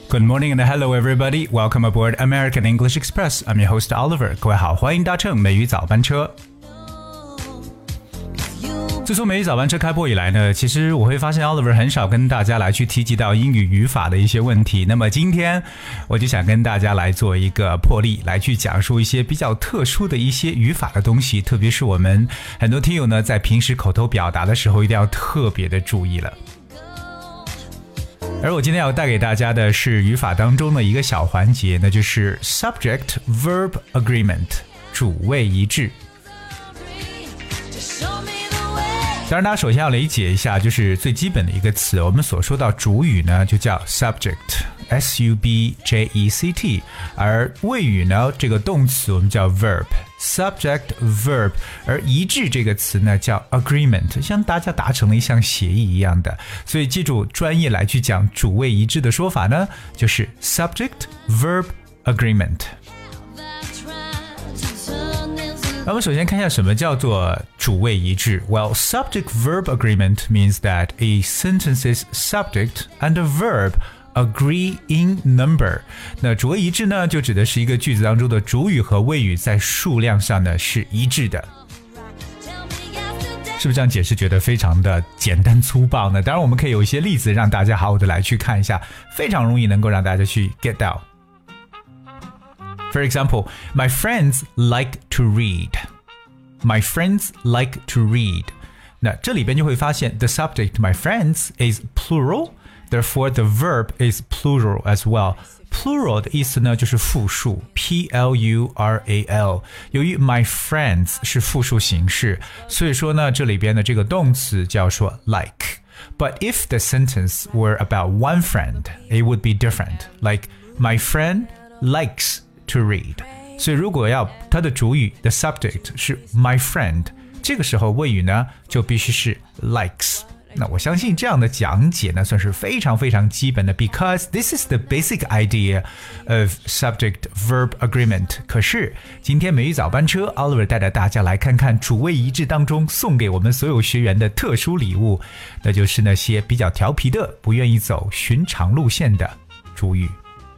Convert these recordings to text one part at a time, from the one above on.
Good morning and hello everybody. Welcome aboard American English Express. I'm your host Oliver. 各位好，欢迎搭乘美语早班车。自从美语早班车开播以来呢，其实我会发现 Oliver 很少跟大家来去提及到英语语法的一些问题。那么今天我就想跟大家来做一个破例，来去讲述一些比较特殊的一些语法的东西，特别是我们很多听友呢在平时口头表达的时候一定要特别的注意了。而我今天要带给大家的是语法当中的一个小环节，那就是 Subject-Verb Agreement 主谓一致。当然大家首先要理解一下，就是最基本的一个词，我们所说到主语呢就叫 subject S-U-B-J-E-C-T， 而谓语呢这个动词我们叫 verb subject verb， 而一致这个词呢叫 agreement， 像大家达成了一项协议一样的，所以记住专业来去讲主谓一致的说法呢就是 subject verb agreement。那我们首先看一下什么叫做主谓一致。Well, subject-verb agreement means that a sentence's subject and a verb agree in number. 那主谓一致呢，就指的是一个句子当中的主语和谓语在数量上呢是一致的。是不是这样解释觉得非常的简单粗暴呢？当然我们可以有一些例子让大家好好的来去看一下，非常容易能够让大家去 get 到。For example, my friends like to read. My friends like to read. 那这里边就会发现 the subject, my friends, is plural. Therefore, the verb is plural as well. Plural 的意思呢就是复数 P-L-U-R-A-L。由于 my friends 是复数形式，所以说呢这里边的这个动词叫做 like. But if the sentence were about one friend, it would be different. Like, my friend likes to read. 所以如果要它的主语的 subject 是 my friend， 这个时候谓语呢就必须是 likes。 那我相信这样的讲解呢算是非常非常基本的， because this is the basic idea of subject-verb agreement。 可是今天美语早班车 Oliver 带着大家来看看主谓一致当中送给我们所有学员的特殊礼物，那就是那些比较调皮的不愿意走寻常路线的主语。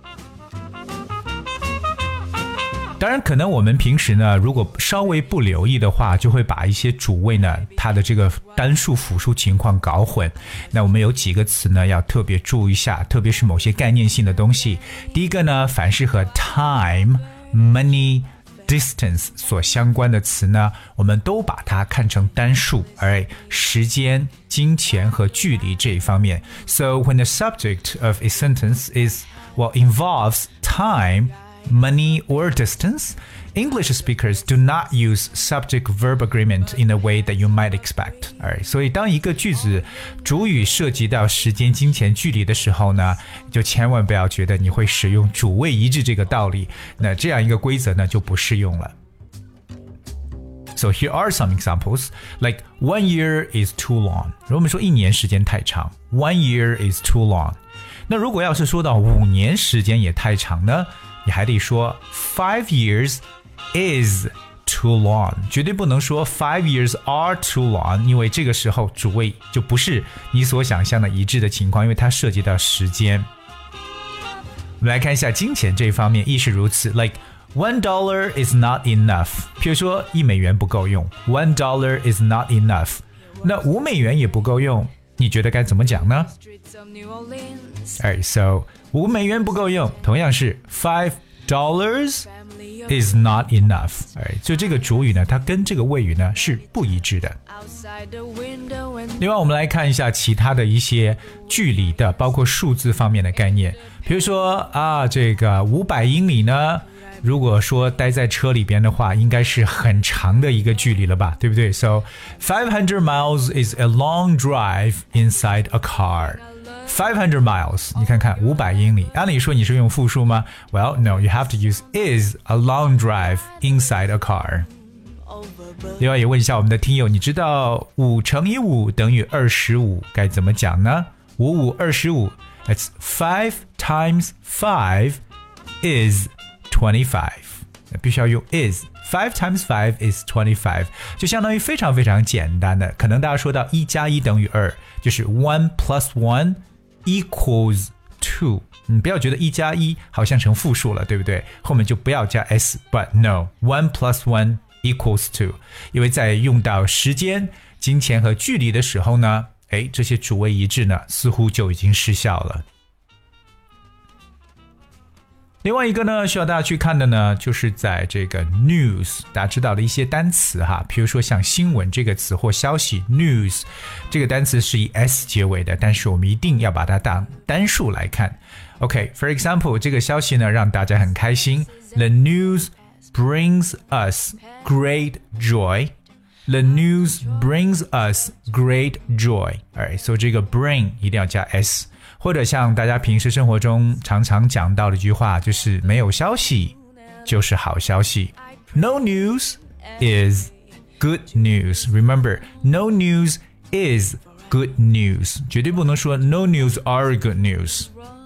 当然可能我们平时呢如果稍微不留意的话，就会把一些主谓呢它的这个单数复数情况搞混。那我们有几个词呢要特别注意一下，特别是某些概念性的东西。第一个呢，凡是和 time, money, distance 所相关的词呢，我们都把它看成单数，而时间、金钱和距离这一方面。 So when the subject of a sentence involves time, money or distance, English speakers do not use subject-verb agreement in a way that you might expect. Alright, 所以当一个句子主语涉及到时间、金钱、距离的时候呢，就千万不要觉得你会使用主谓一致这个道理，那这样一个规则呢就不适用了。So here are some examples, like 1 year is too long. 如果我们说1年时间太长， 1 year is too long. 那如果要是说到5年时间也太长呢，你还得说 5 years is too long， 绝对不能说 5 years are too long， 因为这个时候主谓就不是你所想象的一致的情况，因为它涉及到时间。我们来看一下金钱这一方面亦是如此， like $1 is not enough， 譬如说1美元不够用， $1 is not enough。 那5美元也不够用，你觉得该怎么讲呢？ Alright, so 5美元不够用，同样是 $5 is not enough。 Alright, 就这个主语呢它跟这个谓语呢是不一致的。另外我们来看一下其他的一些距离的包括数字方面的概念，比如说这个500英里呢，如果说待在车里边的话应该是很长的一个距离了吧，对不对？ So 500 miles is a long drive inside a car。 500 miles 你看看500英里，按理说你是用复数吗？ Well, no, you have to use is a long drive inside a car。 另外也问一下我们的听友，你知道5乘以5等于25该怎么讲呢？5 5 25 That's 5 times 5 is 25， 必须要用 is。 5 times 5 is 25， 就相当于非常非常简单的，可能大家说到1加1等于2，就是1 plus 1 equals 2你不要觉得1加1好像成复数了，对不对？后面就不要加 s but no 1 plus 1 equals 2，因为在用到时间、金钱和距离的时候呢，这些主谓一致呢似乎就已经失效了。另外一个呢需要大家去看的呢，就是在这个 news 大家知道的一些单词哈，比如说像新闻这个词或消息 news 这个单词是以 s 结尾的，但是我们一定要把它当单数来看。OK, for example 这个消息呢让大家很开心， The news brings us great joy. The news brings us great joy. Alright, so 这个 bring 一定要加 s，或者像大家平时生活中常常讲到的一句话，就是没有消息就是好消息。No news is good news. Remember, no news is good news. 绝对不能说 no news are good news.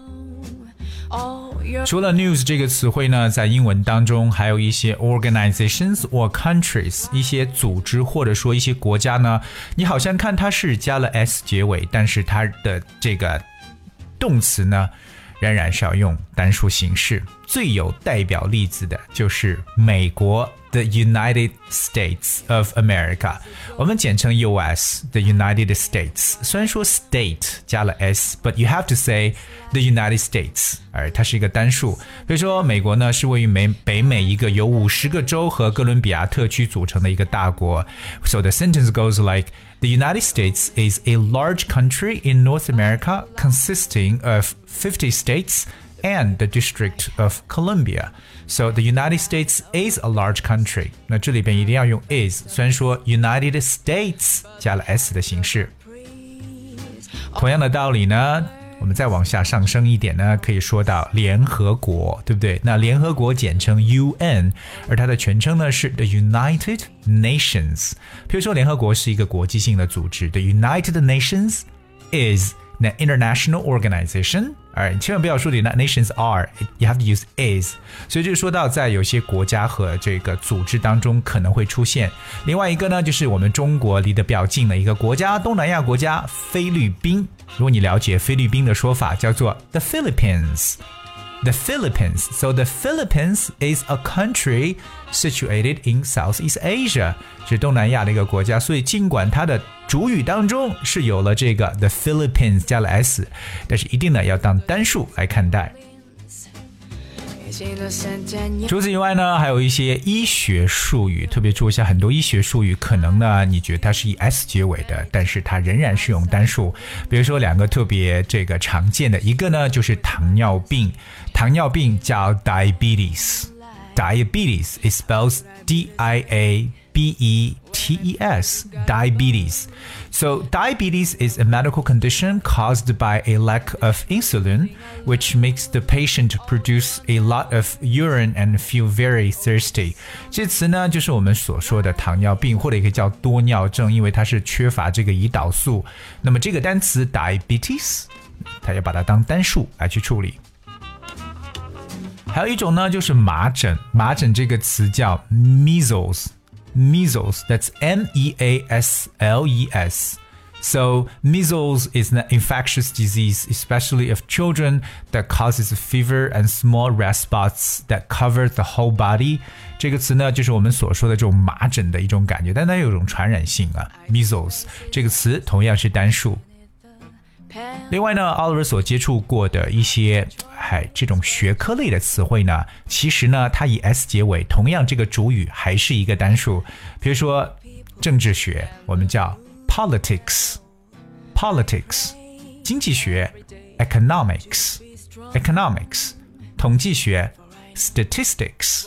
除了 news 这个词汇呢，在英文当中还有一些 organizations or countries 一些组织或者说一些国家呢，你好像看它是加了 s 结尾，但是它的这个动词呢仍然是要用单数形式。最有代表例子的就是美国 The United States of America， 我们简称 US The United States， 虽然说 state 加了 s but you have to say The United States， 而它是一个单数。比如说美国呢是位于北美一个由50个州和哥伦比亚特区组成的一个大国， So the sentence goes like The United States is a large country in North America consisting of 50 states and the District of Columbia. So the United States is a large country. 那这里边一定要用 is， 虽然说 United States 加了 s 的形式。同样的道理呢，我们再往下上升一点呢，可以说到联合国，对不对？那联合国简称 UN， 而它的全称呢是 The United Nations。比如说联合国是一个国际性的组织， The United Nations is an international organization。千万不要说 The United Nations are, you have to use is。 所以就说到在有些国家和这个组织当中可能会出现。另外一个呢，就是我们中国离得比较近的一个国家，东南亚国家菲律宾。如果你了解菲律宾的说法，叫做 The Philippines。The Philippines. So the Philippines is a country situated in Southeast Asia. 是东南亚的一个国家，所以尽管它的主语当中是有了这个 The Philippines 加了 s， 但是一定呢要当单数来看待。除此以外呢，还有一些医学术语，特别注意一下，很多医学术语可能呢你觉得它是以 s 结尾的，但是它仍然是用单数。比如说两个特别这个常见的，一个呢就是糖尿病，糖尿病叫 diabetes it spells D-I-A-B-E-T-E-S diabetes. So diabetes is a medical condition caused by a lack of insulin, which makes the patient produce a lot of urine and feel very thirsty. 这词呢就是我们所说的糖尿病，或者也可以叫多尿症，因为它是缺乏这个胰岛素。那么这个单词 diabetes 它要把它当单数来去处理。还有一种呢就是麻疹，麻疹这个词叫 measles, that's M-E-A-S-L-E-S. So measles is an infectious disease, especially of children, that causes fever and small red spots that cover the whole body. 这个词呢就是我们所说的这种麻疹的一种感觉，但它有一种传染性啊。measles 这个词同样是单数。另外呢 Oliver 所接触过的一些这种学科类的词汇呢，其实呢它以 s 结尾，同样这个主语还是一个单数。比如说政治学我们叫 politics， 经济学 economics， 统计学 statistics。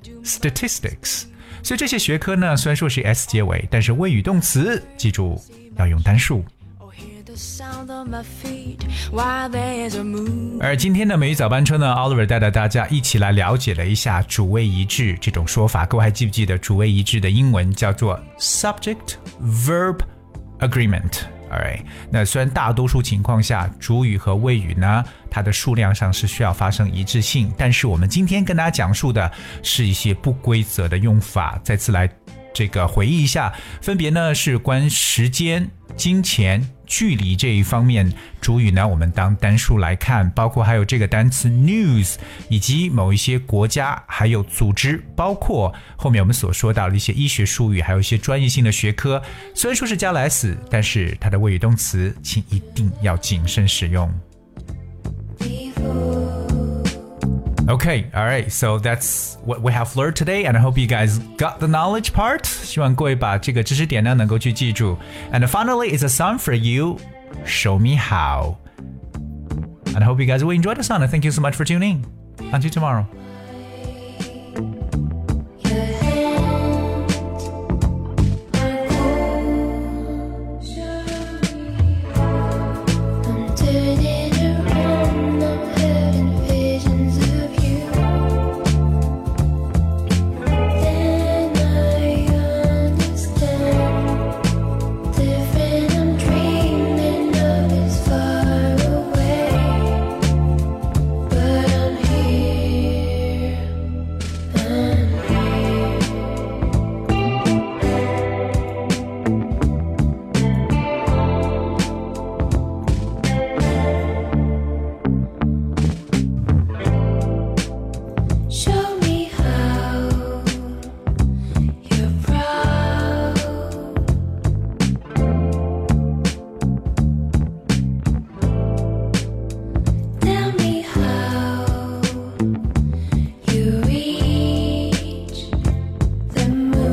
所以这些学科呢虽然说是 s 结尾，但是谓语动词记住要用单数。而今天的美语早班车呢 Oliver 带着大家一起来了解了一下主谓一致这种说法。各位还记不记得主谓一致的英文叫做 subject verb agreement。 Alright， 那虽然大多数情况下主语和谓语呢它的数量上是需要发生一致性，但是我们今天跟大家讲述的是一些不规则的用法。再次来这个回忆一下，分别呢是关时间、 金钱、距离这一方面，主语呢我们当单数来看，包括还有这个单词 news， 以及某一些国家还有组织，包括后面我们所说到的一些医学术语，还有一些专业性的学科，虽然说是加了 s， 但是它的谓语动词请一定要谨慎使用。Okay, all right, so that's what we have learned today, and I hope you guys got the knowledge part. 希望各位把这个知识点呢能够去记住。And finally, is a song for you, Show Me How. And I hope you guys will enjoy the song, and thank you so much for tuning in. Until tomorrow.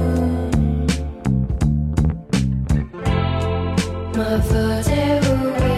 My father